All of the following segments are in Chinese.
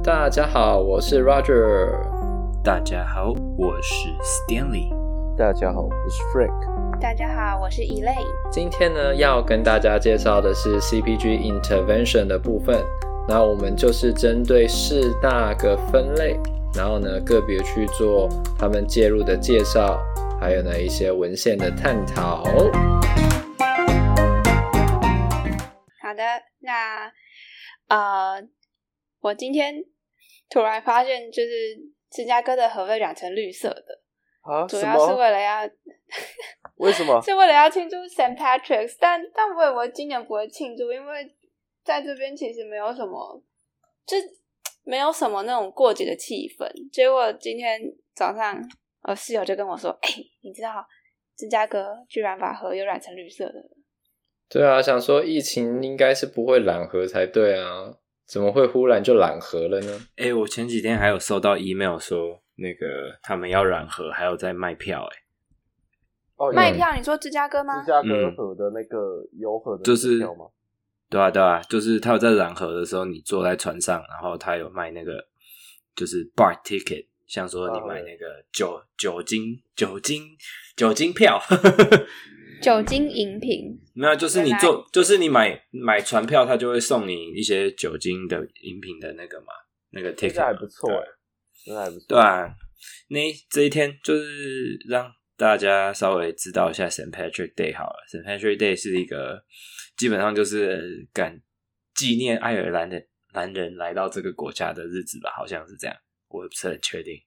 大家好，我是 Roger。 大家好，我是 Stanley。 大家好，我是 Frank。 大家好，我是 Elaine。 今天呢，要跟大家介绍的是 CPG Intervention 的部分。那我们就是针对4大个分类，然后呢，个别去做他们介入的介绍，还有呢一些文献的探讨。 好的，那我今天突然发现，就是芝加哥的河被染成绿色的啊？ 主要是为了要为什么？ 是为了要庆祝 St. Patrick's， 但我以为今年不会庆祝，因为在这边其实没有什么，就没有什么那种过节的气氛。结果今天早上，我室友就跟我说：“你知道芝加哥居然把河又染成绿色的了。” 对啊，想说疫情应该是不会染河才对啊，怎么会忽然就染河了呢？ 我前几天还有收到 email 说，那个他们要染河，还有在卖票。 卖票？你说芝加哥吗？ 芝加哥河的那个游河的票吗？ 对啊，就是他有在染河的时候，你坐在船上，然后他有卖那个就是 bar ticket， 像说你买那个酒精票。 酒精饮品没有，就是就是你买船票，他就会送你一些酒精的饮品的那个嘛，那个 ticket 还不错真的还不错。 对啊，这一天就是让大家稍微知道一下 St. Patrick Day 好了。St. Patrick Day 是一个基本上就是纪念爱尔兰的男人来到这个国家的日子吧，好像是这样，我也不是很确定。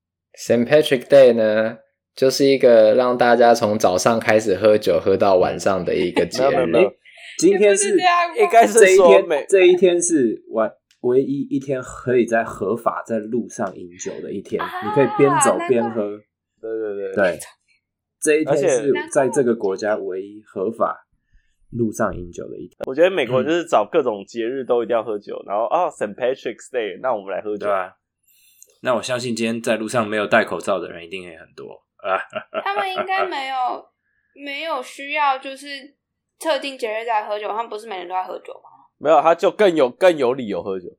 St. Patrick Day 呢，就是一个让大家从早上开始喝酒喝到晚上的一个节日。 今天是应该是这一天是唯一一天可以在合法在路上饮酒的一天，你可以边走边喝。对，这一天是在这个国家唯一合法路上饮酒的一天。 我觉得美国就是找各种节日都一定要喝酒，然后St. Patrick's Day， 那我们来喝酒。 对啊，那我相信今天在路上没有戴口罩的人一定也很多。 他们应该没有需要就是特定节日在喝酒，他们不是每人都在喝酒吗？ 没有，他就更有理由喝酒。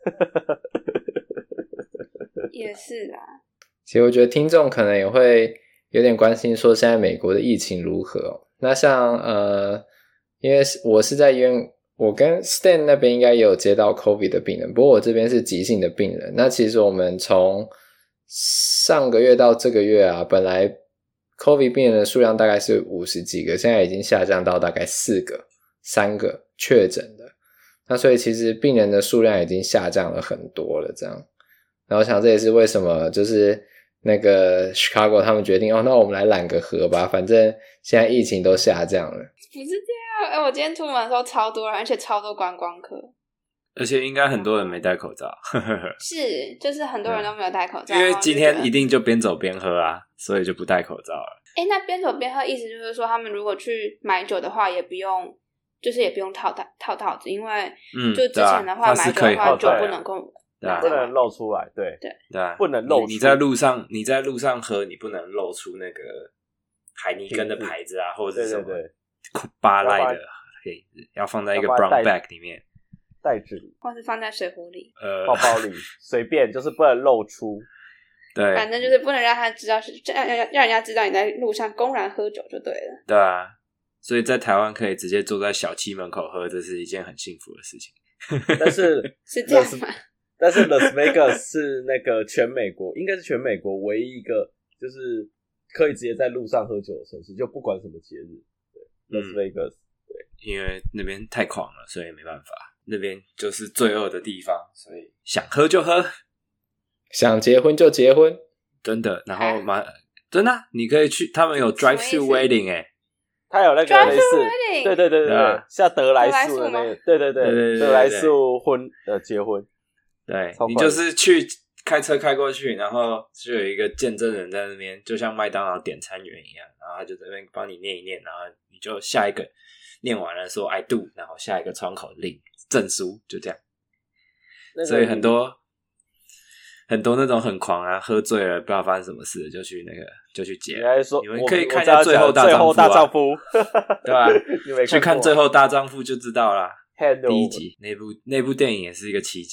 也是啦。 其实我觉得听众可能也会有点关心说现在美国的疫情如何。那像因为我是在医院，我跟 Stan 那边应该也有接到 COVID 的病人，不过我这边是急性的病人。那其实我们从上个月到这个月啊，本来 COVID 病人的数量大概是50几个，现在已经下降到大概3个确诊的。那所以其实病人的数量已经下降了很多了这样。然后我想这也是为什么就是那个 Chicago 他们决定那我们来染个河吧，反正现在疫情都下降了。 不是这样，我今天出门的时候超多人，而且超多观光客， 而且应该很多人没戴口罩。 是，就是很多人都没有戴口罩， 因为今天一定就边走边喝啊，所以就不戴口罩了。 那边走边喝意思就是说，他们如果去买酒的话，也不用套套子，因为就之前的话买酒的话，酒不能够不能露出来，对，不能露出。 你在路上喝，你不能露出那个海尼根的牌子啊，或者是什么巴赖的，要放在一个 brown bag 里面， 袋子里， 或是放在水壶里、 包包里，随便，就是不能露出。 对， 反正就是不能让他知道让人家知道你在路上公然喝酒就对了。 对啊，所以在台湾可以直接坐在小七门口喝，这是一件很幸福的事情。 但是是这样吗？ 但是 Las Vegas 是那个应该是全美国唯一一个就是可以直接在路上喝酒的城市，就不管什么节日。对 Las Vegas， 对， 因为那边太狂了，所以没办法，那边就是罪恶的地方，所以想喝就喝， 想结婚就结婚， 真的。然后真的你可以去，他们有 drive-through wedding 他有那个类似，对，像德莱素的那个，对，德莱素结婚。 对，你就是去开车开过去，然后就有一个见证人在那边，就像麦当劳点餐员一样，然后他就在那边帮你念一念，然后你就下一个念完了说 I do， 然后下一个窗口领证书，就这样。所以很多那种很狂啊，喝醉了不知道发生什么事就去结。你们可以看一下最后大丈夫对吧？去看最后大丈夫就知道啦。第一集那部电影也是一个奇迹，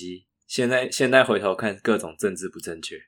现在回头看各种政治不正确。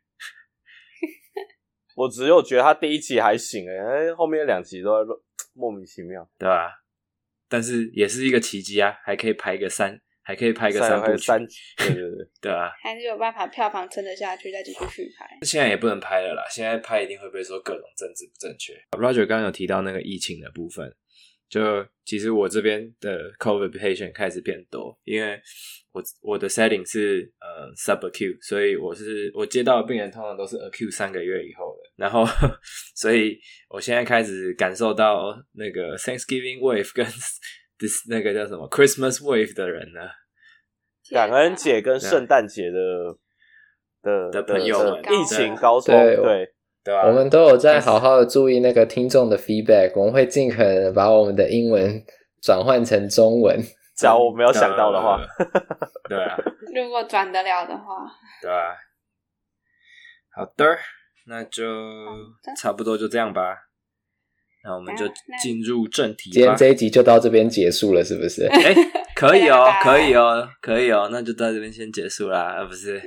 我只有觉得他第一集还行后面2集都在莫名其妙， 对吧？但是也是一个奇迹啊，还可以拍个3部曲， 对， 对啊， 还是有办法票房撑得下去，再继续续拍。 现在也不能拍了啦，现在拍一定会被说各种政治不正确。Roger 刚刚有提到那个疫情的部分，就其实我这边的 COVID patient 开始变多，因为我的 setting 是subacute， 所以我接到的病人通常都是 acute 3个月以后的，然后所以我现在开始感受到那个 Thanksgiving wave 跟那个叫什么 Christmas wave 的人呢， 感恩节跟圣诞节的朋友们疫情高峰，对吧？ 我们都有在好好的注意那个听众的 feedback， 我们会尽可能把我们的英文转换成中文， 只要我没有想到的话， 对啊， 如果转得了的话， 对啊。好的，那就差不多就这样吧。那我们就进入正题吧。 今天这一集就到这边结束了，是不是？ 可以哦，可以哦，可以哦，那就到这边先结束啦，不是？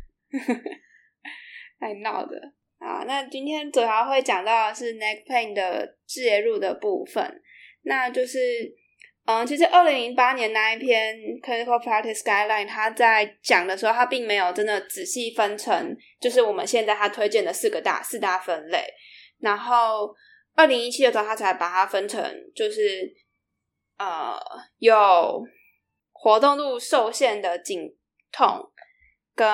太闹的。好，那今天主要会讲到的是 neck pain 的介入的部分，那就是其实2008年那一篇 Clinical Practice Guideline 他在讲的时候，他并没有真的仔细分成就是我们现在他推荐的四大分类，然后2017的时候他才把它分成就是有活动度受限的颈痛跟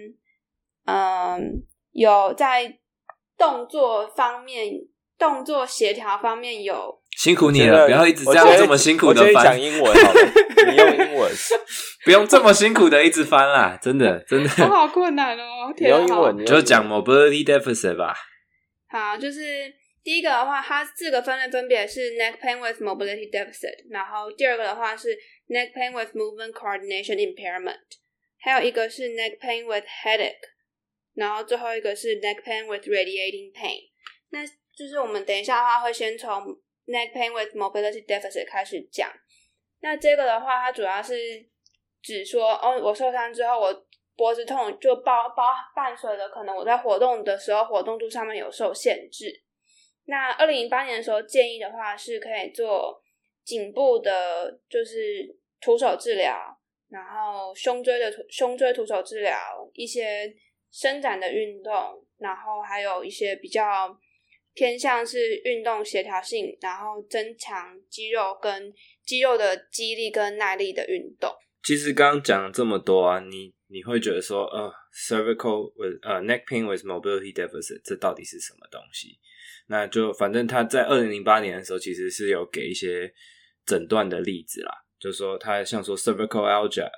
有在动作协调方面有辛苦你了，不要一直这样这么辛苦的翻。 我觉得讲英文好了，你用英文， 不用这么辛苦的一直翻啦，真的。 我好困难哦， 你用英文就讲 mobility deficit 吧。 好，就是第一个的话，它4个分类分别是 neck pain with mobility deficit， 然后第二个的话是 neck pain with movement coordination impairment， 还有一个是 neck pain with headache， 然后最后一个是 neck pain with radiating pain。那就是我们等一下的话会先从 neck pain with mobility deficit 开始讲。那这个的话，它主要是指说，我受伤之后，我脖子痛就伴随的可能我在活动的时候活动度上面有受限制。那2008年的时候建议的话是可以做颈部的就是徒手治疗，然后胸椎徒手治疗，一些伸展的运动，然后还有一些比较偏向是运动协调性，然后增强肌肉的肌力跟耐力的运动。 其实刚刚讲了这么多啊，你会觉得说cervical with neck pain with mobility deficit 这到底是什么东西？那就反正他在2008年的时候其实是有给一些诊断的例子啦，就是说他像说 cervicalgia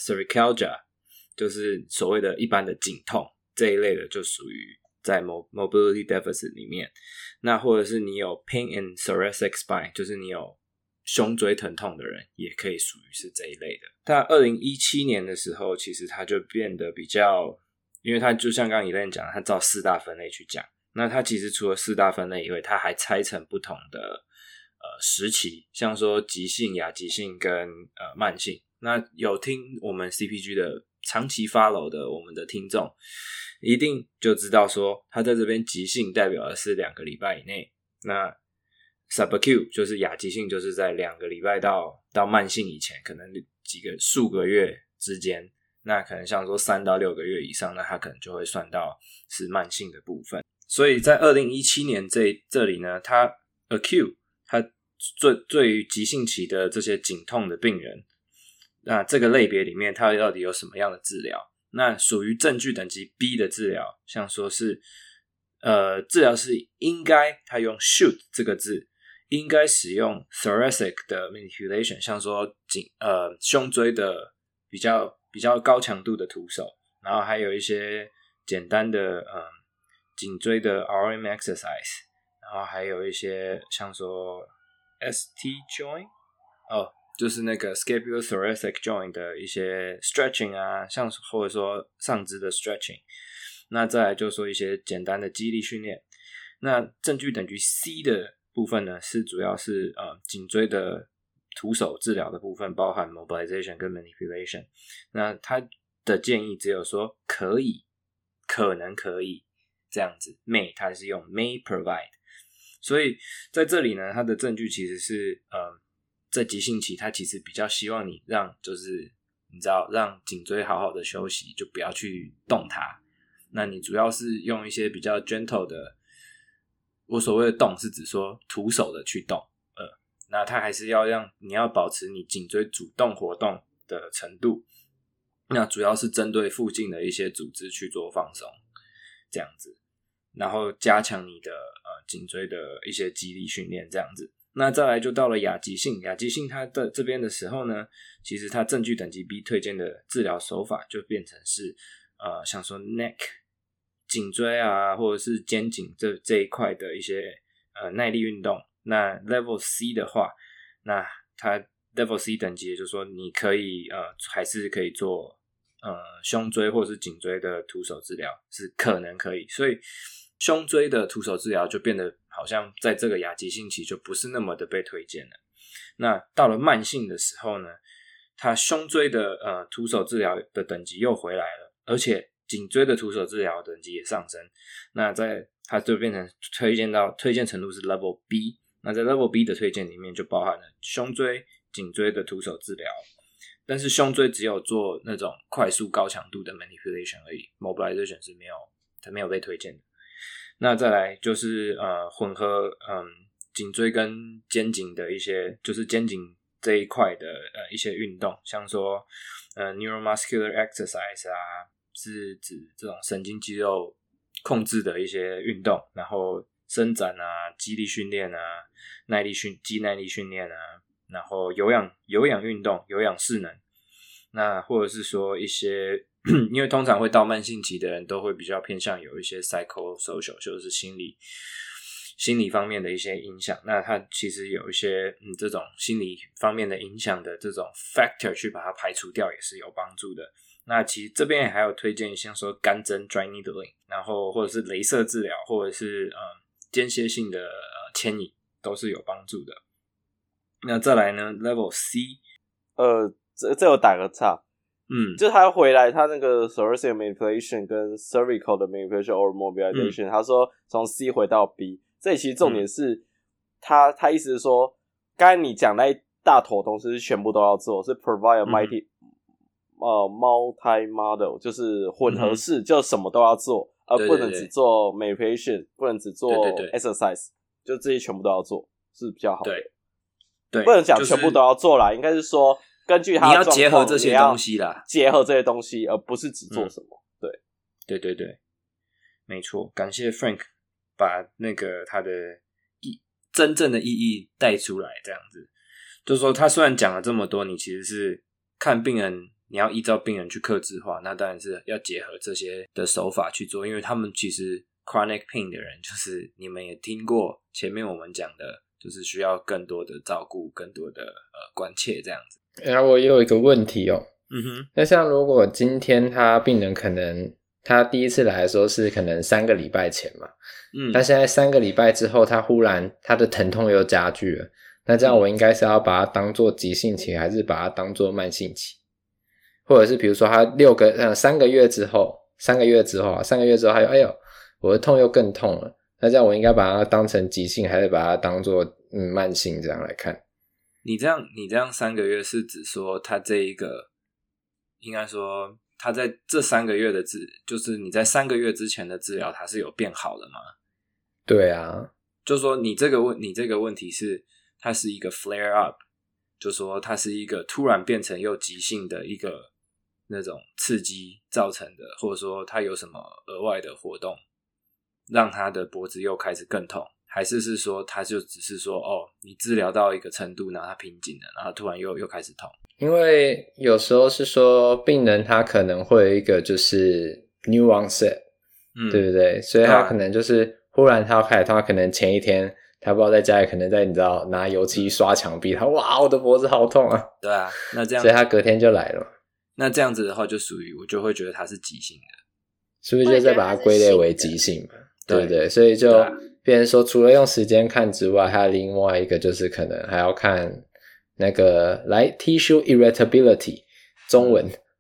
就是所谓的一般的颈痛这一类的就属于在 mobility deficit 里面。那或者是你有 pain in thoracic spine， 就是你有胸椎疼痛的人也可以属于是这一类的。但2017年的时候其实它就变得比较，因为它就像刚刚 Elaine 讲，它照4大分类去讲，那它其实除了4大分类以外，它还拆成不同的时期，像说急性、亚急性跟慢性。那有听我们 CPG 的长期 follow 的我们的听众一定就知道说，它在这边急性代表的是2个礼拜以内，那 subacute 就是亚急性，就是在2个礼拜到慢性以前，可能数个月之间，那可能像说3到6个月以上，那它可能就会算到是慢性的部分。所以在2017年这里呢，它 acute 它对于急性期的这些颈痛的病人，那这个类别里面它到底有什么样的治疗？那属于证据等级 B 的治疗，像说是治疗是应该它用 should 这个字，应该使用 thoracic 的 manipulation， 像说胸椎的比较高强度的徒手，然后还有一些简单的颈椎的 RM exercise， 然后还有一些像说 ST joint 就是那个 scapulothoracic joint 的一些 stretching 啊，像或者说上肢的 stretching。那再来就说一些简单的肌力训练。那证据等于 C 的部分呢，是主要是颈椎的徒手治疗的部分，包含 mobilization 跟 manipulation。那它的建议只有说可以，可能可以这样子 may 它是用 may provide， 所以在这里呢，它的证据其实是在急性期它其实比较希望你让就是你知道让颈椎好好的休息，就不要去动它。那你主要是用一些比较 gentle 的，我所谓的动是指说徒手的去动，那它还是要让你要保持你颈椎主动活动的程度，那主要是针对附近的一些组织去做放松这样子，然后加强你的颈椎的一些肌力训练这样子。那再来就到了亚急性，亚急性它的这边的时候呢，其实它证据等级 B 推荐的治疗手法就变成是像说 neck 颈椎啊，或者是肩颈这一块的一些耐力运动。那 Level C 的话，那它 Level C 等级也就是说你可以还是可以做胸椎或者是颈椎的徒手治疗，是可能可以。所以胸椎的徒手治疗就变得好像在这个亚急性期就不是那么的被推荐了。那到了慢性的时候呢，它胸椎的徒手治疗的等级又回来了，而且颈椎的徒手治疗等级也上升。那它就变成推荐程度是 Level B。那在 Level B 的推荐里面就包含了胸椎、颈椎的徒手治疗，但是胸椎只有做那种快速高强度的 manipulation 而已， mobilization 是没有被推荐的。那再来就是混合颈椎跟肩颈的一些，就是肩颈这一块的一些运动，像说neuromuscular exercise 啊，是指这种神经肌肉控制的一些运动，然后伸展啊、肌力训练啊、肌耐力训练啊，然后有氧运动、有氧势能，那或者是说一些因为通常会到慢性期的人都会比较偏向有一些 psychosocial， 就是心理方面的一些影响，那它其实有一些这种心理方面的影响的这种 factor 去把它排除掉也是有帮助的。那其实这边还有推荐像说干针 dry needling， 然后或者是雷射治疗，或者是间歇性的牵引都是有帮助的。那再来呢 Level C， 这有打个岔，就他回来他那个 thoracic manipulation 跟 cervical 的 manipulation or mobilization，他说从 C 回到 B， 这里其实重点是他意思是说刚才你讲那一大坨东西是全部都要做，是 provide a multi model， 就是混合式，就什么都要做，而不能只做 manipulation， 不能只做 exercise， 就这些全部都要做是比较好的。对，不能讲全部都要做啦，应该是说根据他的状况， 你要结合这些东西啦， 结合这些东西，而不是只做什么。 对，没错。感谢 Frank 把那个他的真正的意义带出来，这样子，就是说他虽然讲了这么多，你其实是看病人，你要依照病人去客制化，那当然是要结合这些的手法去做，因为他们其实 chronic pain 的人，就是你们也听过前面我们讲的，就是需要更多的照顾，更多的关切这样子。 然后我也有一个问题哦，那像如果今天他病人可能他第一次来的时候是可能3个礼拜前嘛，他现在3个礼拜之后他忽然他的疼痛又加剧了，那这样我应该是要把它当作急性期，还是把它当作慢性期？或者是比如说他3个月之后他又哎呦我的痛又更痛了，那这样我应该把它当成急性，还是把它当作慢性这样来看？ 你这样3个月是指说他这一个应该说他在这3个月的就是你在3个月之前的治疗他是有变好的吗？ 对啊， 就是说你这个问题是它是一个 flare up， 就是说它是一个突然变成又急性的一个那种刺激造成的，或者说它有什么额外的活动让他的脖子又开始更痛，还是说他就只是说你治疗到一个程度然后他瓶颈了，然后突然又开始痛？ 因为有时候是说病人他可能会有一个就是 new onset，对不对？所以他可能就是忽然他要开始痛，他可能前一天他不知道在家里可能在你知道拿油漆刷墙壁，他哇我的脖子好痛啊， 对啊，那这样所以他隔天就来了。那这样子的话就属于我就会觉得他是急性的， 是不是就再把它归类为急性嘛？对不对？所以就变成说除了用时间看之外，还有另外一个就是可能还要看那个tissue irritability， 中文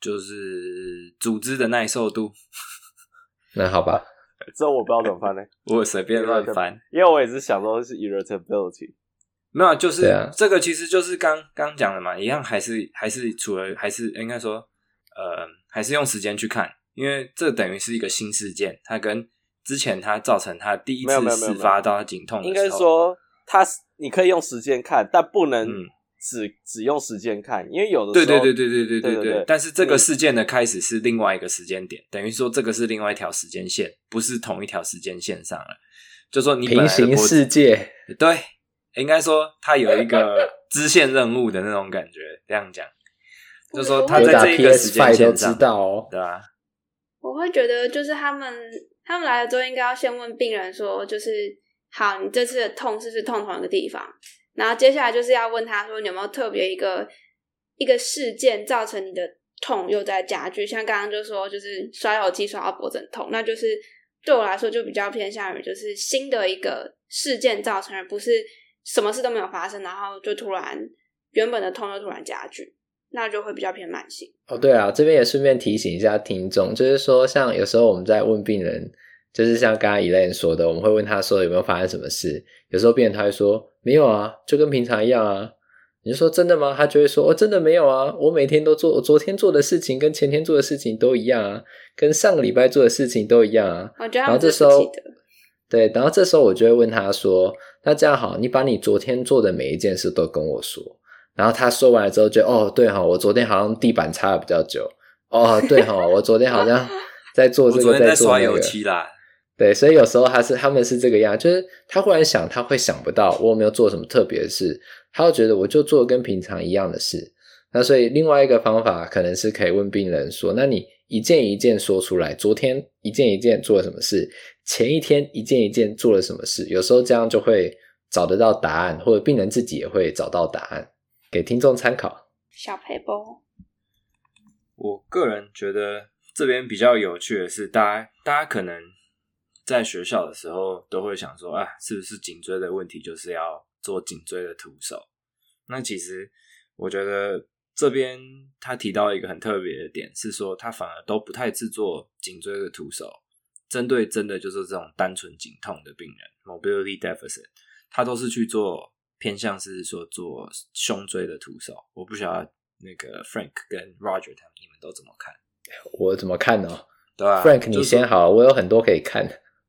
就是组织的耐受度。 那好吧， 这我不知道怎么翻呢， 我随便乱翻， 因为我也是想说是 irritability。 没有，就是这个其实就是刚讲的嘛，一样还是除了还是应该说还是用时间去看，因为这等于是一个新事件，它跟之前它造成它第一次事发到它颈痛的时候， 应该说你可以用时间看，但不能只用时间看，因为有的时候对，但是这个事件的开始是另外一个时间点，等于说这个是另外一条时间线，不是同一条时间线上了，就说你本来的平行世界， 对，应该说它有一个支线任务的那种感觉，这样讲，就是说他在这一个时间线上， 都知道哦， 对吧？ 我会觉得就是他们来了之后，应该要先问病人说，就是好，你这次的痛是不是痛同一个地方？然后接下来就是要问他说，你有没有特别一个事件造成你的痛又在加剧？像刚刚就说，就是刷油漆刷到脖子很痛，那就是对我来说就比较偏向于就是新的一个事件造成，而不是什么事都没有发生，然后就突然原本的痛就突然加剧，那就会比较偏慢性。 哦，对啊，这边也顺便提醒一下听众，就是说像有时候我们在问病人，就是像刚刚 Elaine 说的，我们会问他说有没有发生什么事，有时候病人他会说没有啊，就跟平常一样啊。你就说真的吗？他就会说哦，真的没有啊，我每天都做，我昨天做的事情跟前天做的事情都一样啊，跟上个礼拜做的事情都一样啊。 我觉得然后这时候对，然后这时候我就会问他说，那这样好，你把你昨天做的每一件事都跟我说。然后他说完了之后就哦对齁，我昨天好像地板擦的比较久，哦对齁，我昨天好像在做这个， 我昨天在刷油漆啦。 对，所以有时候他们是这个样，就是他忽然想，他会想不到我有没有做什么特别的事，他会觉得我就做跟平常一样的事。那所以另外一个方法可能是可以问病人说，那你一件一件说出来，昨天一件一件做了什么事，前一天一件一件做了什么事，有时候这样就会找得到答案，或者病人自己也会找到答案，给听众参考。 小配包， 我个人觉得这边比较有趣的是，大家可能在学校的时候都会想说，啊，是不是颈椎的问题就是要做颈椎的徒手？那其实我觉得这边他提到一个很特别的点，是说他反而都不太制作颈椎的徒手，针对真的就是这种单纯颈痛的病人 mobility deficit， 他都是去做偏向是说做胸椎的徒手。我不晓得那个 Frank 跟 Roger 他们你们都怎么看？ 我怎么看呢？ 对啊 Frank 你先好，我有很多可以看。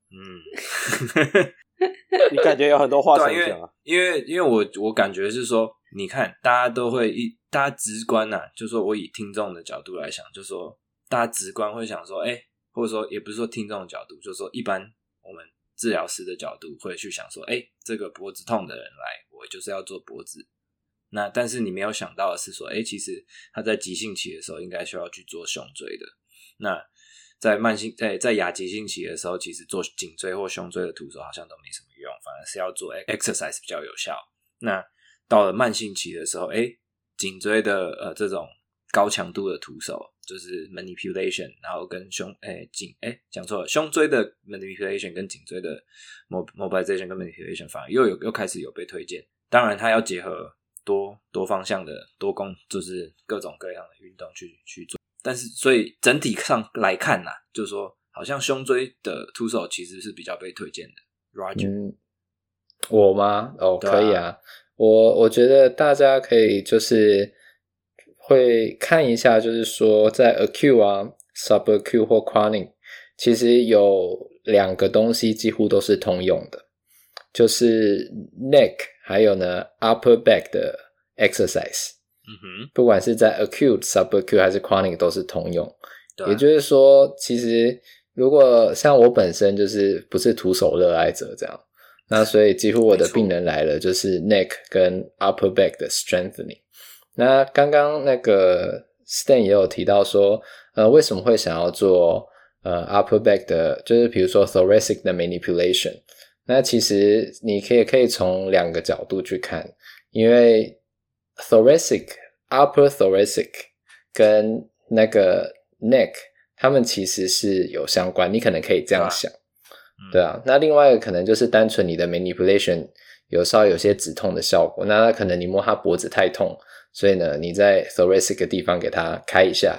你感觉有很多话想讲啊？ 因为我感觉是说，你看大家都会大家直观啊，就说我以听众的角度来想，就说大家直观会想说，或者说也不是说听众的角度，就是说一般我们治疗师的角度会去想说，这个脖子痛的人来，我就是要做脖子。那但是你没有想到的是说，其实他在急性期的时候应该需要去做胸椎的。那在在亚急性期的时候，其实做颈椎或胸椎的徒手好像都没什么用，反而是要做 exercise 比较有效。那到了慢性期的时候，颈椎的这种高强度的徒手，就是 manipulation， 然后跟讲错了，胸椎的 manipulation 跟颈椎的 mobilization 跟 manipulation 反而又开始有被推荐。当然，它要结合多方向的就是各种各样的运动去做。但是，所以整体上来看就是说，好像胸椎的徒手其实是比较被推荐的。Roger， 我吗？可以啊。我觉得大家可以就是会看一下，就是说在 acute 啊、subacute 或 chronic， 其实有两个东西几乎都是通用的，就是 neck 还有呢 upper back 的 exercise。不管是在 acute、subacute 还是 chronic 都是通用。也就是说，其实如果像我本身就是不是徒手热爱者这样，那所以几乎我的病人来了就是 neck 跟 upper back 的 strengthening。那刚刚那个 Stan 也有提到说，为什么会想要做upper back 的，就是比如说 thoracic 的 manipulation。那其实你可以从两个角度去看，因为upper thoracic 跟那个 neck 他们其实是有相关，你可能可以这样想，对啊。那另外一个可能就是单纯你的 manipulation 稍微有些止痛的效果，那可能你摸他脖子太痛，所以呢你在 thoracic 的地方给他开一下，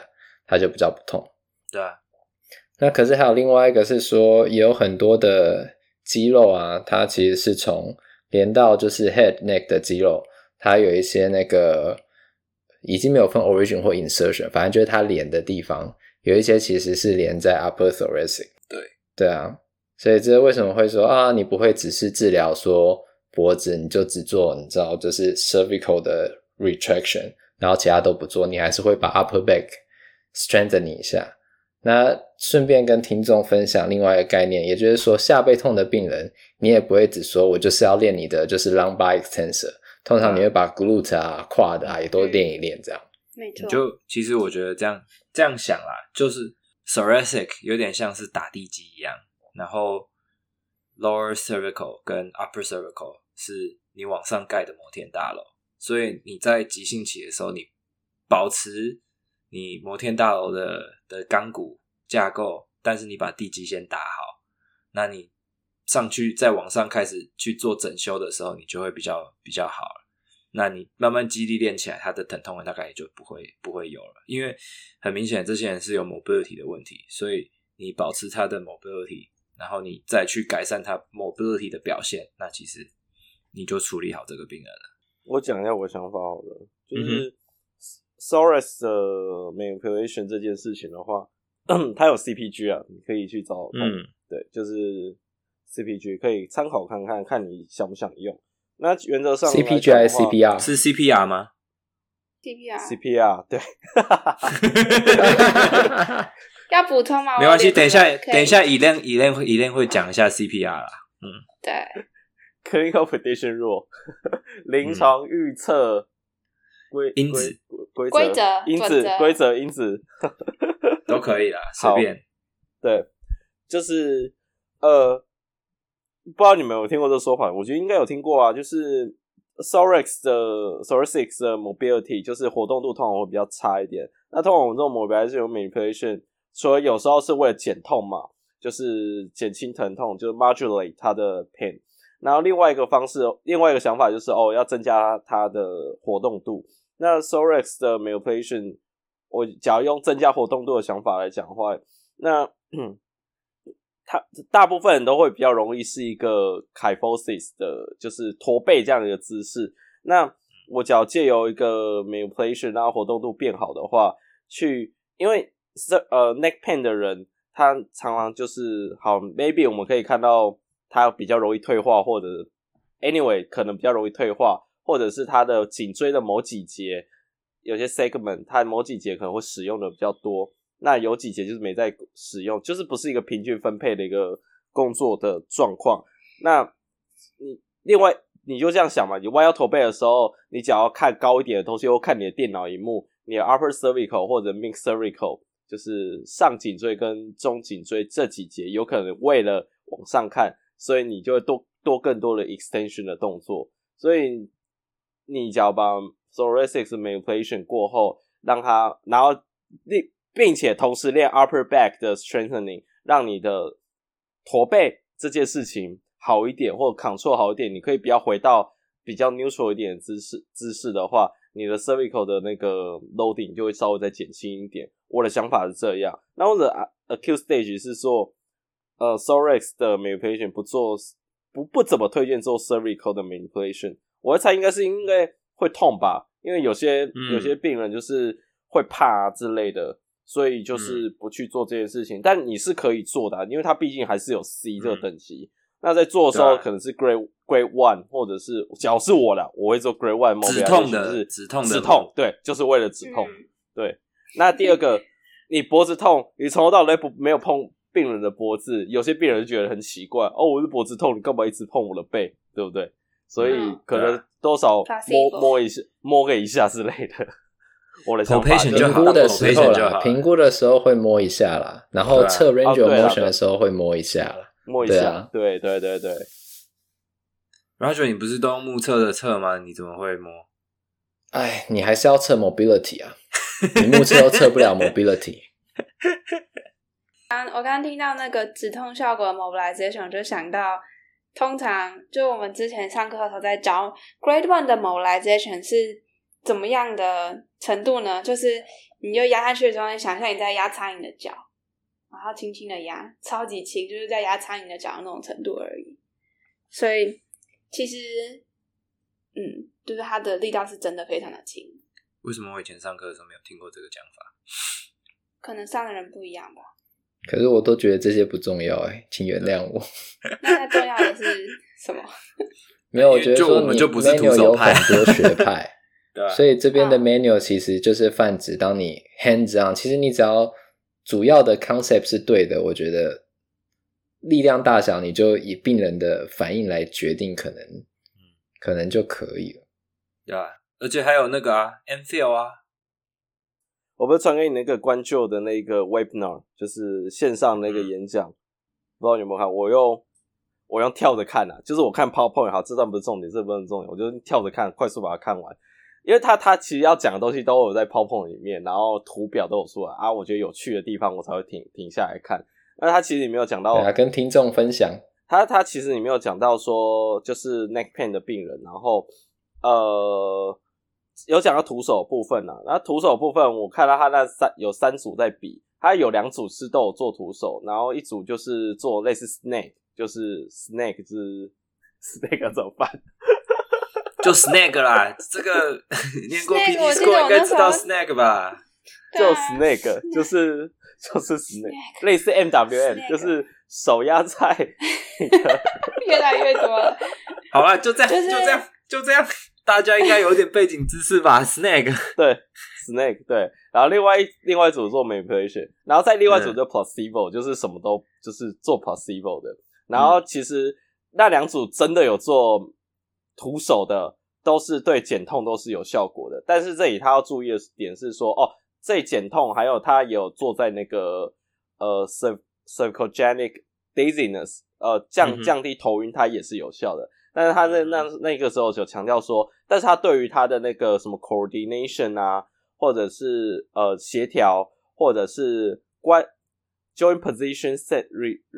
它就比较不痛。 对啊。 那可是还有另外一个是说，也有很多的肌肉啊，它其实是从连到就是 head neck 的肌肉，它有一些那个已经没有分 origin 或 insertion， 反正就是它连的地方有一些其实是连在 upper thoracic。 对啊，所以这为什么会说啊，你不会只是治疗说脖子，你就只做你知道就是 cervical 的 retraction， 然后其他都不做，你还是会把 upper back strengthen 一下。那顺便跟听众分享另外一个概念，也就是说下背痛的病人你也不会只说我就是要练你的就是 lumbar extensor， 通常你会把 glute 啊 quad 啊也都练一练这样。 没错， 就其实我觉得这样想啦，就是 thoracic 有点像是打地基一样，然后 lower cervical 跟 upper cervical 是你往上盖的摩天大楼，所以你在急性期的时候，你保持你摩天大楼的钢骨架构，但是你把地基先打好，那你上去再往上开始去做整修的时候，你就会比较好了。那你慢慢肌力练起来，它的疼痛大概也就不会有了，因为很明显这些人是有 mobility 的问题，所以你保持他的 mobility， 然后你再去改善他 mobility 的表现，那其实你就处理好这个病人了。 我讲一下我的想法好了，就是Thorax 的 manipulation 这件事情的话，它有 CPG 啊，你可以去找看，对，就是 CPG 可以参考看看，看你想不想用。那原则上 CPG 还是 CPR？ 是 CPR 吗？ CPR 对。 要补充吗？ 没关系，等一下以len会讲一下 CPR 啦。 对 Clinical prediction rule 临床预测因子规则因子都可以啦，随便。 对，就是不知道你们有听过这个说法，我觉得应该有听过啊，就是 thoracic 的 mobility 就是活动度通常会比较差一点。那通常我们这种 mobilization manipulation 除了有时候是为了减痛嘛，就是减轻疼痛，就是 modulate 它的 pain。然后另外一个想法就是要增加它的活动度。那 thorax 的 manipulation， 我假如用增加活动度的想法来讲的话，那它大部分人都会比较容易是一个 kyphosis 的，就是驼背这样的一个姿势。那我只要借由一个 manipulation 让活动度变好的话，因为neck pain 的人他常常就是好 maybe 我们可以看到他比较容易退化，或者 anyway 可能比较容易退化，或者是他的颈椎的某几节有些 segment 他某几节可能会使用的比较多，那有几节就是没在使用，就是不是一个平均分配的一个工作的状况。那另外你就这样想嘛，你弯腰驼背的时候，你只要看高一点的东西，或看你的电脑萤幕，你的 upper cervical 或者 mid cervical 就是上颈椎跟中颈椎这几节有可能为了往上看，所以你就会多更多的 extension 的动作。所以你只要把 thoracic manipulation 过后，让它然后并且同时练 upper back 的 strengthening， 让你的驼背这件事情好一点，或 control 好一点，你可以不要回到比较 neutral 一点的姿势的话，你的 cervical 的那个 loading 就会稍微再减轻一点。我的想法是这样。那我的 acute stage 是说thorax 的 manipulation 不怎么推荐做 cervical 的 manipulation。我会猜应该会痛吧，因为有些病人就是会怕之类的，所以就是不去做这件事情。但你是可以做的因为它毕竟还是有 C 这个等级。那在做的时候可能是 grade 1，或者是假如是我啦，我会做 grade 1 mobilization， 止痛，对，就是为了止痛。对，那第二个，你脖子痛，你从头到尾没有碰病人的脖子，有些病人就觉得很奇怪，我是脖子痛，你干嘛一直碰我的背，对不对？所以可能多少摸个一下之类的。我的想法评估的时候会摸一下啦，然后测 range of motion 的时候会摸一下啦。 摸一下，对。 Roger， 你不是都用目测的测吗？你怎么会摸？ 哎，你还是要测 mobility 啊，你目测都测不了 mobility。 我刚刚听到那个止痛效果的 mobilization， 我就想到，通常就我们之前上课的时候在教 grade 1的 mobilization 是怎么样的程度呢？就是你就压下去的时候，你想象你在压苍蝇的脚，然后轻轻的压，超级轻，就是在压苍蝇的脚的那种程度而已。所以其实就是它的力道是真的非常的轻。 为什么我以前上课的时候没有听过这个讲法？ 可能上的人不一样吧。 可是我都觉得这些不重要请原谅我。 那重要的是什么？ 没有，我觉得说你 manual 有很多学派对， 所以这边的 manual 其实就是泛指当你 hands on， 其实你只要主要的 concept 是对的，我觉得力量大小你就以病人的反应来决定，可能就可以了。 对啊，而且还有那个Enfield 我不是传给你那个关旧的那个 webinar， 就是线上那个演讲，不知道你有没有看？我用跳着看就是我看 PowerPoint 好，这段不是重点，这不是重点，我就跳着看，快速把它看完。因为他其实要讲的东西都有在 PowerPoint 里面，然后图表都有出来我觉得有趣的地方我才会停下来看。那他其实也没有讲到， 跟听众分享。 他其实也没有讲到说就是 neck pain 的病人，然后有讲到徒手部分那徒手部分我看到他有3组在比，他有2组是都有做徒手，然后一组就是做类似 snake， 就是 snake 是 snake 怎么办？ 就 snake 啦，这个念过 PT School 应该知道 snake 吧？ 就 snake 就是 snake， 类似 MWM， 就是手压在越来越多了。 好啦，就这样，大家应该有点背景知识吧 ？snake 对 snake 对，然后另外一组做 manipulation， 然后再另外一组就 placebo，就是什么都就是做 placebo 的。然后其实那2组真的有做徒手的，都是对减痛都是有效果的。但是这里他要注意的点是说，这减痛还有他有做在那个cervicogenic dizziness， 降低头晕，它也是有效的。但是他在那个时候就强调说，但是他对于他的那个什么 coordination 或者是协调，或者是joint position set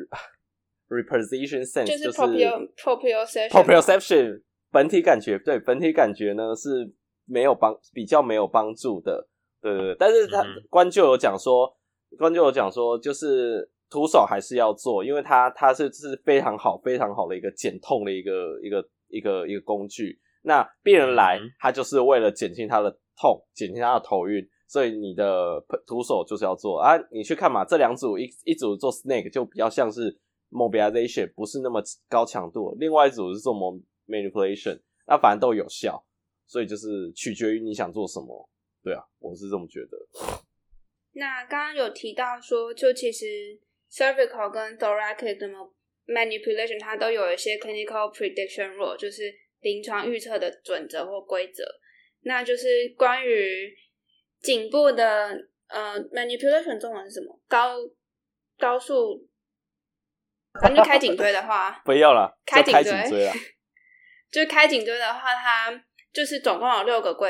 reposition sense， 就是 proprioception 本体感觉，对本体感觉呢是比较没有帮助的，对。但是他关就有讲说，就是徒手还是要做，因为它是非常好的一个减痛的一个工具。那病人来，他就是为了减轻他的痛，减轻他的头晕，所以你的徒手就是要做你去看嘛，这2组一组做 snake 就比较像是 mobilization， 不是那么高强度，另外一组是做 manipulation， 那反正都有效，所以就是取决于你想做什么。对我是这么觉得。 那刚刚有提到说，就其实 cervical 跟 thoracic 的 manipulation 它都有一些 clinical prediction rule， 就是临床预测的准则或规则。那就是关于颈部的manipulation 中文是什么？高速，反正开颈椎的话， 不要啦， 开颈椎啦。 就是开颈椎的话，它就是总共有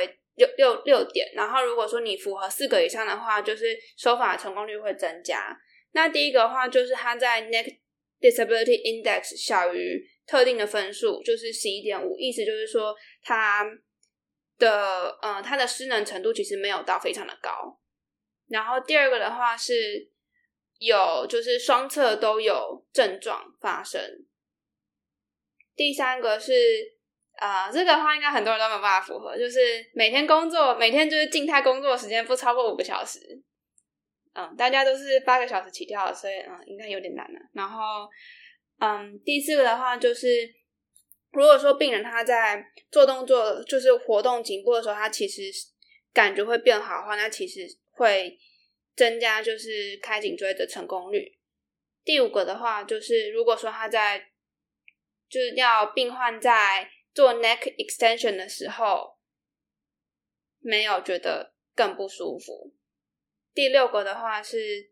6点，然后如果说你符合4个以上的话，就是手法的成功率会增加。那第一个的话就是它在 neck disability index 小于特定的分数，就是 11.5， 意思就是说它的失能程度其实没有到非常的高。然后第二个的话是就是双侧都有症状发生。第三个是这个的话应该很多人都没有办法符合，就是每天就是静态工作时间不超过5个小时。大家都是8个小时起跳的，所以应该有点难了。然后第4个的话就是如果说病人他在做动作就是活动颈部的时候，他其实感觉会变好的话，那其实会增加就是开颈椎的成功率。第5个的话就是如果说他就是要病患在做 neck extension 的时候没有觉得更不舒服。第6个的话是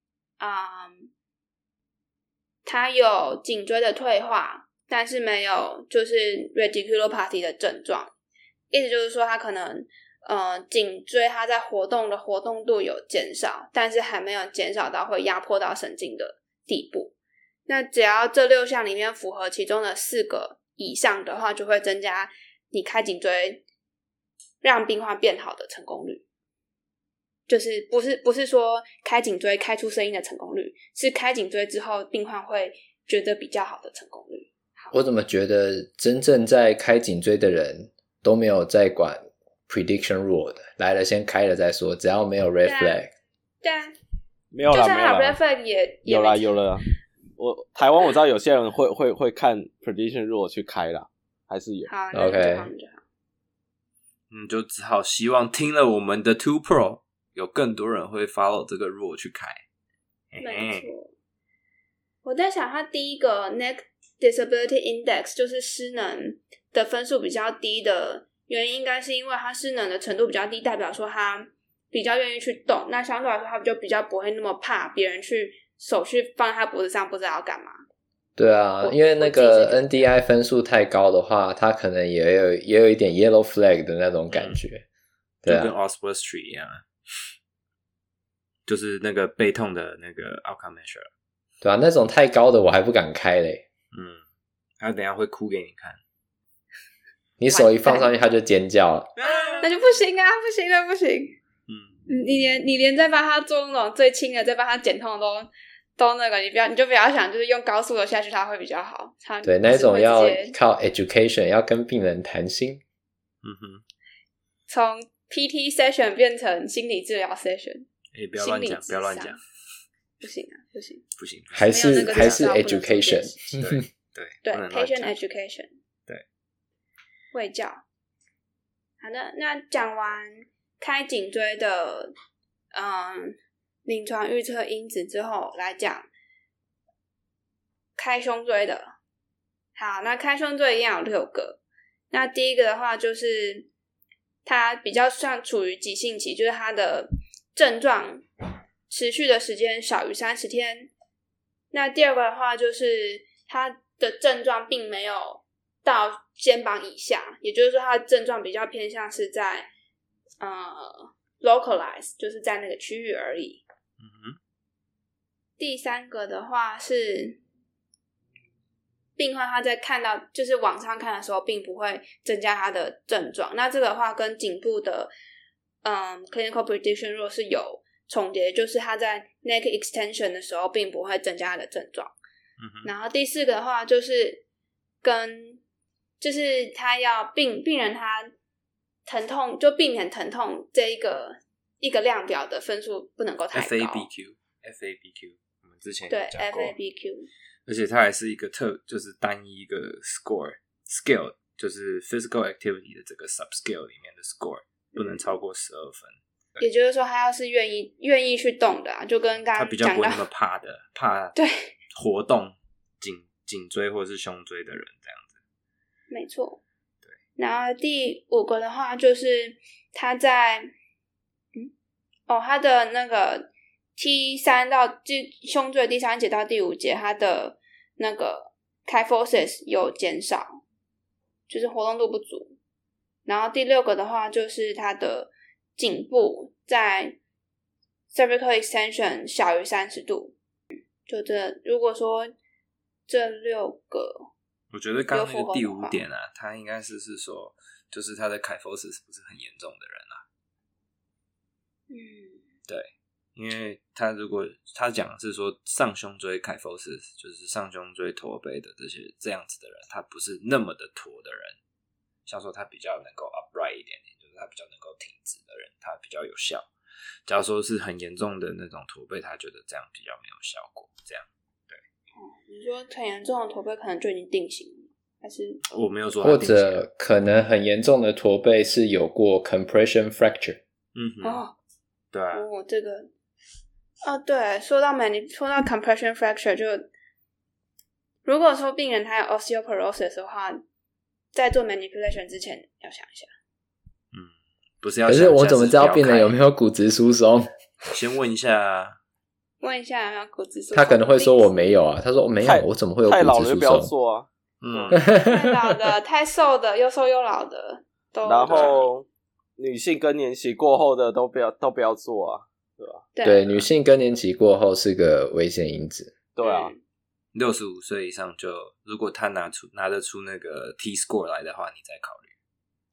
他有颈椎的退化，但是没有就是 radiculopathy 的症状，意思就是说他可能颈椎它在活动的活动度有减少，但是还没有减少到会压迫到神经的地步。那只要这6项里面符合其中的4个以上的话，就会增加你开颈椎让病患变好的成功率。就是不是说开颈椎开出声音的成功率，是开颈椎之后病患会觉得比较好的成功率。 我怎么觉得真正在开颈椎的人都没有在管 prediction rule 的，来了先开了再说，只要没有 red flag。 对啊， 没有啦， 就算他有没有 red flag 也有啦有了。台湾我知道有些人会看 prediction rule 去开啦，还是有。 好 ，OK， 就只好希望听了我们的 Two Pro， 有更多人会 follow 这个 rule 去开。 没错，我在想，他第一个 Neck Disability Index 就是失能的分数比较低的原因，应该是因为他失能的程度比较低，代表说他比较愿意去动，那相对来说他就比较不会那么怕别人去手去放在他脖子上不知道要干嘛。 对啊，因为那个 NDI 分数太高的话，他可能也有一点 yellow flag 的那种感觉。对啊， 就跟 Oswestry 一样，就是那个背痛的那个 outcome measure。 对啊，那种太高的我还不敢开嘞。 他等一下会哭给你看。 你手一放上去他就尖叫了。 那就不行啊，不行了，不行。你连在帮他做那种最轻的，在帮他减痛的都那个，你就不要想，就是用高速的下去，它会比较好。 对，那种要靠 education， 要跟病人谈心。 从 PT session 变成心理治疗 session。 不要乱讲，不要乱讲。 不行啊，不行， 不行， 还是 education。 对 patient education。 对， 卫教。好的，那讲完开颈椎的临床预测因子之后，来讲开胸椎的。好，那开胸椎一样有6个。那第一个的话就是它比较算处于急性期，就是它的症状持续的时间少于30天。那第二个的话就是它的症状并没有到肩膀以下，也就是说它的症状比较偏向是在localize， 就是在那个区域而已。第三个的话是病患他在看到就是网上看的时候并不会增加他的症状，那这个的话跟颈部的clinical prediction rule 是有重叠，就是他在 neck extension 的时候并不会增加他的症状。然后第4个的话就是就是他要病人他疼痛就避免疼痛这一个量表的分数不能够太高。 FABQ 我们之前有讲过。 对 FABQ， 而且它还是一个就是单一一个 scale， 就是 physical activity 的这个 subscale 里面的 score 不能超过12分。 也就是说他要是愿意去动的啊，就跟刚刚他比较不会那么怕对活动颈椎或是胸椎的人这样子。 没错。对。然后第5个的话就是他在他的那个 T3 到胸椎第3节到第5节，他的那个 kyphosis 有减少，就是活动度不足。然后第6个的话就是他的颈部在 cervical extension 小于30度。就如果说这6个， 我觉得刚刚那个第5点啊，他应该是说就是他的 kyphosis 不是很严重的人啊。对，因为他如果他讲的是说上胸椎 kyphosis 就是上胸椎驼背的这样子的人，他不是那么的驼的人，像说他比较能够 upright 一点点，就是他比较能够挺直的人，他比较有效。假如说是很严重的那种驼背，他觉得这样比较没有效果。这样，对。 你说很严重的驼背可能就已经定型了，还是我没有说或者可能很严重的驼背是有过 compression fracture。 对啊。 这个对，说到 compression fracture， 就如果说病人他有 osteoporosis 的话，在做 manipulation 之前要想一下。 不是要想。可是我怎么知道病人有没有骨质疏松？ 先问一下啊。 问一下有没有骨质疏松。 他可能会说我没有啊，他说我没有，我怎么会有骨质疏松？ 太老了就不要做啊。 太老的、太瘦的、又瘦又老的都。 然后女性更年期过后的都不要做啊，对吧？ 对，女性更年期过后是个危险因子。 对啊。 65岁以上就如果他拿得出那个 T score 来的话，你再考虑。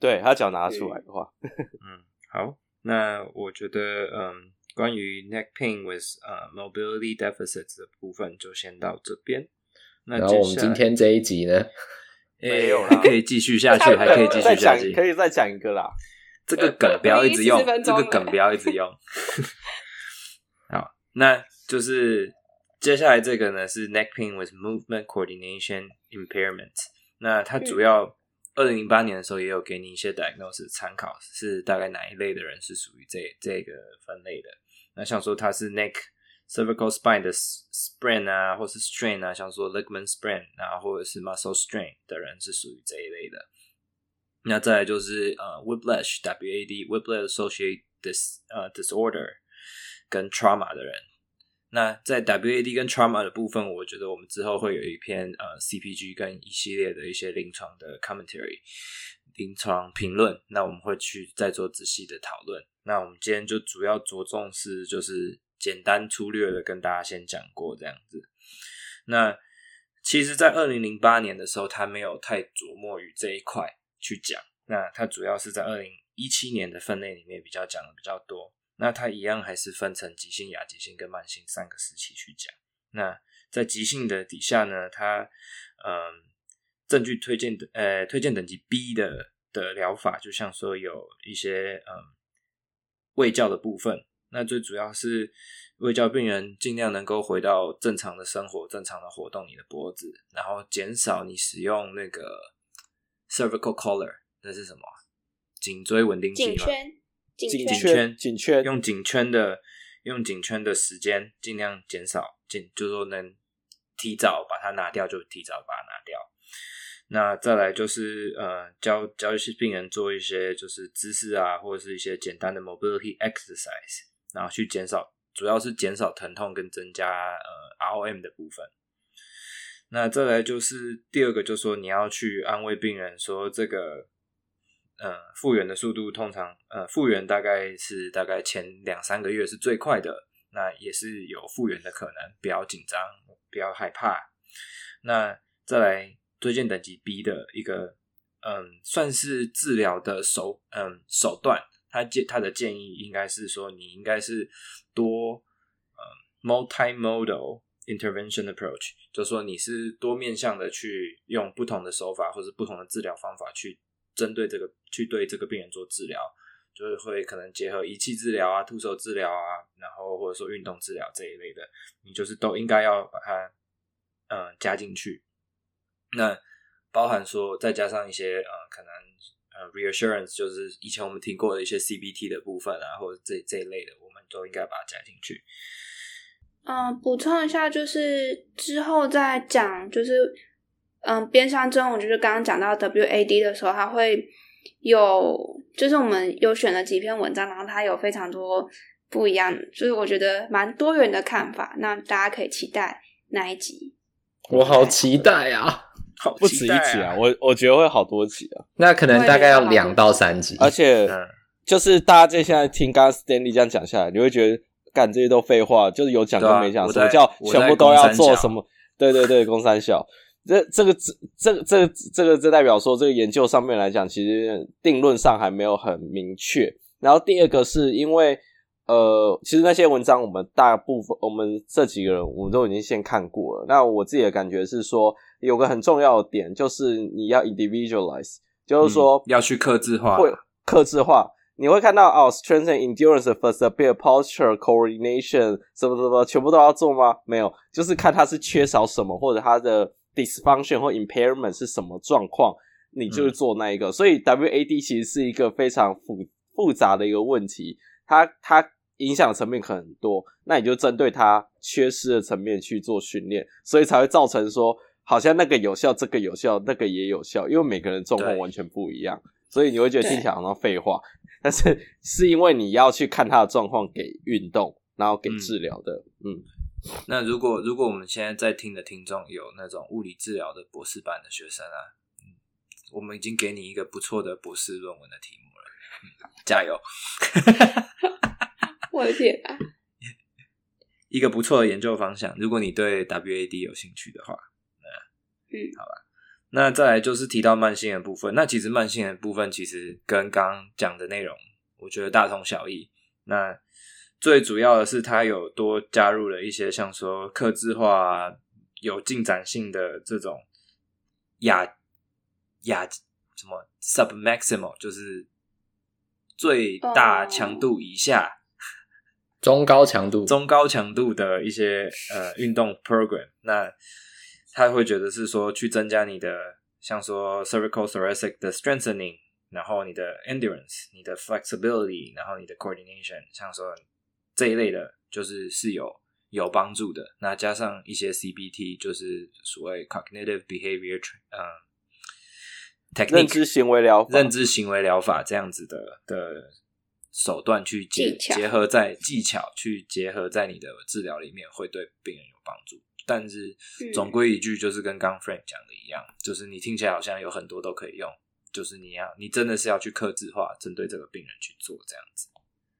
对，他只要拿出来的话。 好，那我觉得关于 neck pain with mobility deficits 的部分就先到这边。那然后我们今天这一集呢， 没有还可以继续下去，还可以继续下去， 可以再讲一个啦。 这个梗不要一直用，这个梗不要一直用。好，那就是接下来这个呢是 neck pain with movement coordination impairment。那它主要2008年的时候也有给你一些 diagnosis 参考，是大概哪一类的人是属于这个分类的。那像说它是 neck cervical spine 的 sprain 啊，或是 strain 啊，像说 ligament sprain 啊，或者是 muscle strain 的人是属于这一类的。那再来就是whiplash WAD whiplash associated disorder 跟 trauma 的人。那在 WAD 跟 trauma 的部分，我觉得我们之后会有一篇CPG 跟一系列的一些临床的 commentary 临床评论，那我们会去再做仔细的讨论。那我们今天就主要着重是就是简单粗略的跟大家先讲过这样子。那其实在2008年的时候他没有太琢磨于这一块去讲，那他主要是在2017年的分类里面比较讲的比较多。那它一样还是分成急性、亚急性跟慢性3个时期去讲。那在急性的底下呢，它证据推荐等级 B 的疗法，就像说有一些卫教的部分。那最主要是卫教病人尽量能够回到正常的生活，正常的活动你的脖子，然后减少你使用那个 cervical collar， 那是什么？颈椎稳定器吗？颈圈用颈圈的时间尽量减少，就是说能提早把它拿掉就提早把它拿掉。那再来就是教一些病人做一些就是姿势啊，或者是一些简单的 mobility exercise， 然后去减少，主要是减少疼痛跟增加ROM 的部分。那再来就是第二个，就是说你要去安慰病人说这个复原的速度通常复原大概前2-3个月是最快的，那也是有复原的可能，不要紧张，不要害怕。那再来推荐等级 B 的一个算是治疗的手段，他的建议应该是说你应该是多multimodal intervention approach， 就是说你是多面向的去用不同的手法或是不同的治疗方法去针对去对这个病人做治疗，就是会可能结合仪器治疗啊、徒手治疗啊，然后或者说运动治疗这一类的，你就是都应该要把它加进去。那包含说再加上一些可能reassurance， 就是以前我们听过的一些 CBT 的部分啊，或者这一类的，我们都应该把它加进去。 补充一下，就是之后再讲，就是边上针，我就是刚刚讲到 WAD 的时候，它会有，就是我们有选了几篇文章，然后它有非常多不一样，就是我觉得蛮多元的看法，那大家可以期待那一集。 我好期待啊！ 不止一集啊，我觉得会好多集啊。 那可能大概要2到3集， 而且就是大家现在听刚刚 Stanley 这样讲下来，你会觉得干这些都废话，就是有讲跟没讲，什么叫全部都要做什么？对，公三小。这代表说这个研究上面来讲，其实定论上还没有很明确。然后第二个是因为其实那些文章我们大部分我们这几个人我们都已经先看过了。那我自己的感觉是说，有个很重要的点就是你要 individualize， 就是说要去客制化， 你会看到strength and endurance, flexibility, posture, coordination 什么全部都要做吗？没有，就是看它是缺少什么，或者它的 dysfunction 或 impairment 是什么状况，你就是做那一个。所以 WAD 其实是一个非常复杂的一个问题，它影响的层面可能很多，那你就针对它缺失的层面去做训练，所以才会造成说好像那个有效，这个有效，那个也有效，因为每个人状况完全不一样，所以你会觉得听起来好像废话，但是因为你要去看他的状况给运动，然后给治疗的。 那如果我们现在在听的听众有那种物理治疗的博士班的学生啊，我们已经给你一个不错的博士论文的题目了，加油！ 我的天啊！ 一个不错的研究方向，如果你对 WAD 有兴趣的话，好吧。 那再来就是提到慢性的部分，那其实慢性的部分其实跟刚刚讲的内容我觉得大同小异。那最主要的是它有多加入了一些像说客制化啊，有进展性的这种什么 submaximal 就是最大强度以下、 中高强度的一些运动 program。 那他会觉得是说去增加你的像说 cervical thoracic 的 strengthening， 然后你的 endurance， 你的 flexibility， 然后你的 coordination， 像说这一类的就是有帮助的。那加上一些 CBT 就是所谓 cognitive behavior technique， 认知行为疗法这样子的手段去结合在技巧去结合在你的治疗里面，会对病人有帮助。但是总归一句就是跟刚 Frank 讲的一样，就是你听起来好像有很多都可以用，就是你真的是要去客制化针对这个病人去做这样子。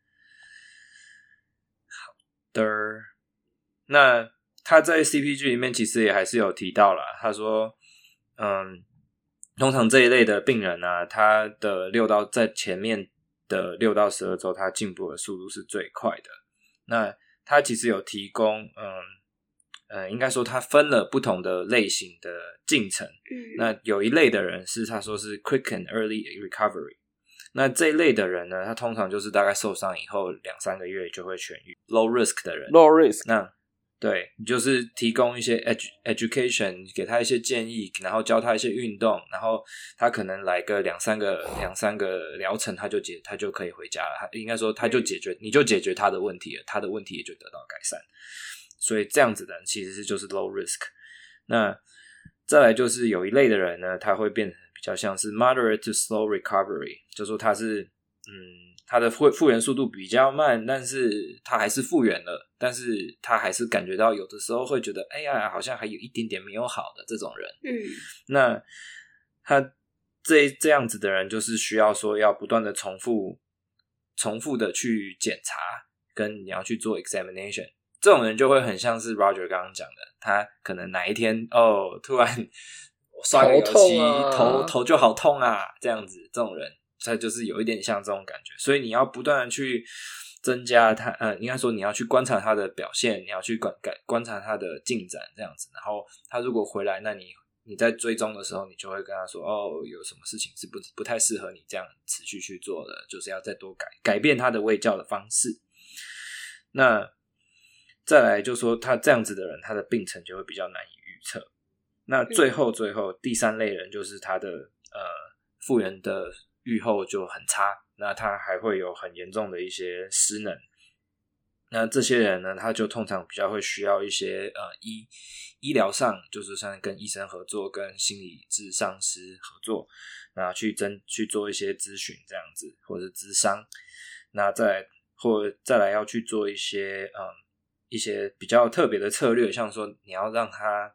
好的，那他在 CPG 里面其实也还是有提到啦，他说通常这一类的病人啊，他的在前面的6到12周他进步的速度是最快的。那他其实有提供应该说他分了不同的类型的进程。那有一类的人是他说是 quick and early recovery， 那这一类的人呢，他通常就是大概受伤以后2-3个月就会痊愈。 low risk 的人 low risk， 那对，你就是提供一些 education， 给他一些建议，然后教他一些运动，然后他可能来个两三个疗程，他就可以回家了。应该说你就解决他的问题了，他的问题也就得到改善。所以这样子的人其实就是 low risk。 那再来就是有一类的人呢，他会变成比较像是 moderate to slow recovery， 就说他是他的复原速度比较慢，但是他还是复原了，但是他还是感觉到有的时候会觉得哎呀好像还有一点点没有好的这种人。那他这样子的人就是需要说要不断的重复的去检查，跟你要去做 examination。这种人就会很像是 Roger 刚刚讲的，他可能哪一天突然刷个油漆头就好痛啊，这样子，这种人他就是有一点像这种感觉。所以你要不断的去增加他应该说你要去观察他的表现，你要去观察他的进展这样子。然后他如果回来，那你在追踪的时候，你就会跟他说有什么事情是不太适合你这样持续去做的，就是要再多改变他的卫教的方式。那再来就说他这样子的人，他的病程就会比较难以预测。那最后第3类人就是他的复原的预后就很差，那他还会有很严重的一些失能。那这些人呢，他就通常比较会需要一些医疗上，就是像跟医生合作，跟心理咨商师合作，那去做一些咨询这样子，或者是咨商。那再来要去做一些比较特别的策略，像说你要让他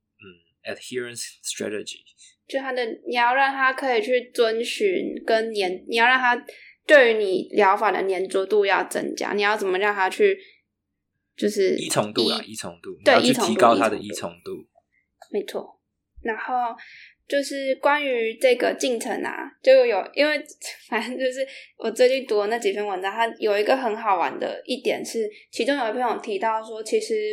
adherence strategy， 就你要让他可以去遵循跟你要让他对于你疗法的黏着度要增加，你要怎么让他去就是依从度， 对， 你要去提高他的依从度， 没错。然后就是关于这个进程啊，因为反正就是我最近读的那几篇文章，它有一个很好玩的一点是，其中有一篇有提到说，其实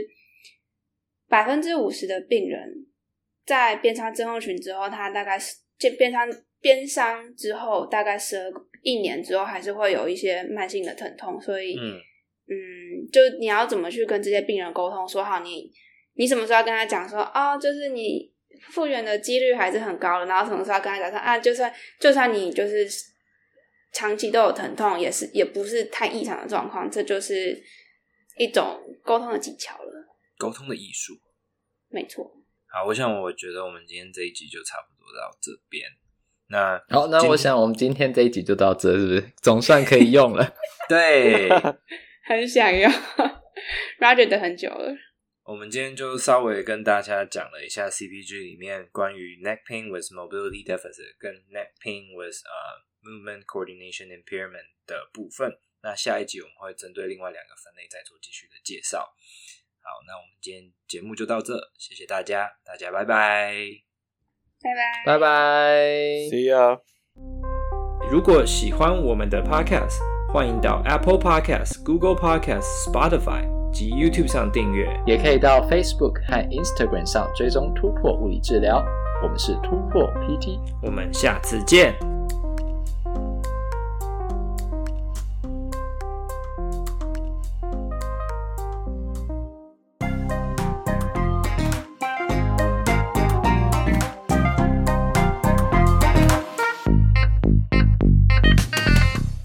50% 的病人在边伤症候群之后，他大概边伤之后大概1年之后还是会有一些慢性的疼痛。所以就你要怎么去跟这些病人沟通，说好你什么时候要跟他讲说就是你复原的几率还是很高的，然后什么时候要跟他讲说就算你就是长期都有疼痛，也不是太异常的状况，这就是一种沟通的技巧了， 沟通的艺术。 没错。 好，我觉得我们今天这一集就差不多到这边。 好，那我想我们今天这一集就到这，是不是总算可以用了？ 对， 很想要Roger 等很久了。 我们今天就稍微跟大家讲了一下 CPG 里面关于 neck pain with mobility deficit 跟 neck pain with movement coordination impairment 的部分。那下一集我们会针对另外2个分类再做继续的介绍。好，那我们今天节目就到这，谢谢大家，大家拜拜。 拜拜 See ya。 如果喜欢我们的 Podcast， 欢迎到 Apple Podcast、Google Podcast、Spotify 及 YouTube 上订阅， 也可以到 Facebook 和 Instagram 上追踪突破物理治疗。我们是突破 PT， 我们下次见。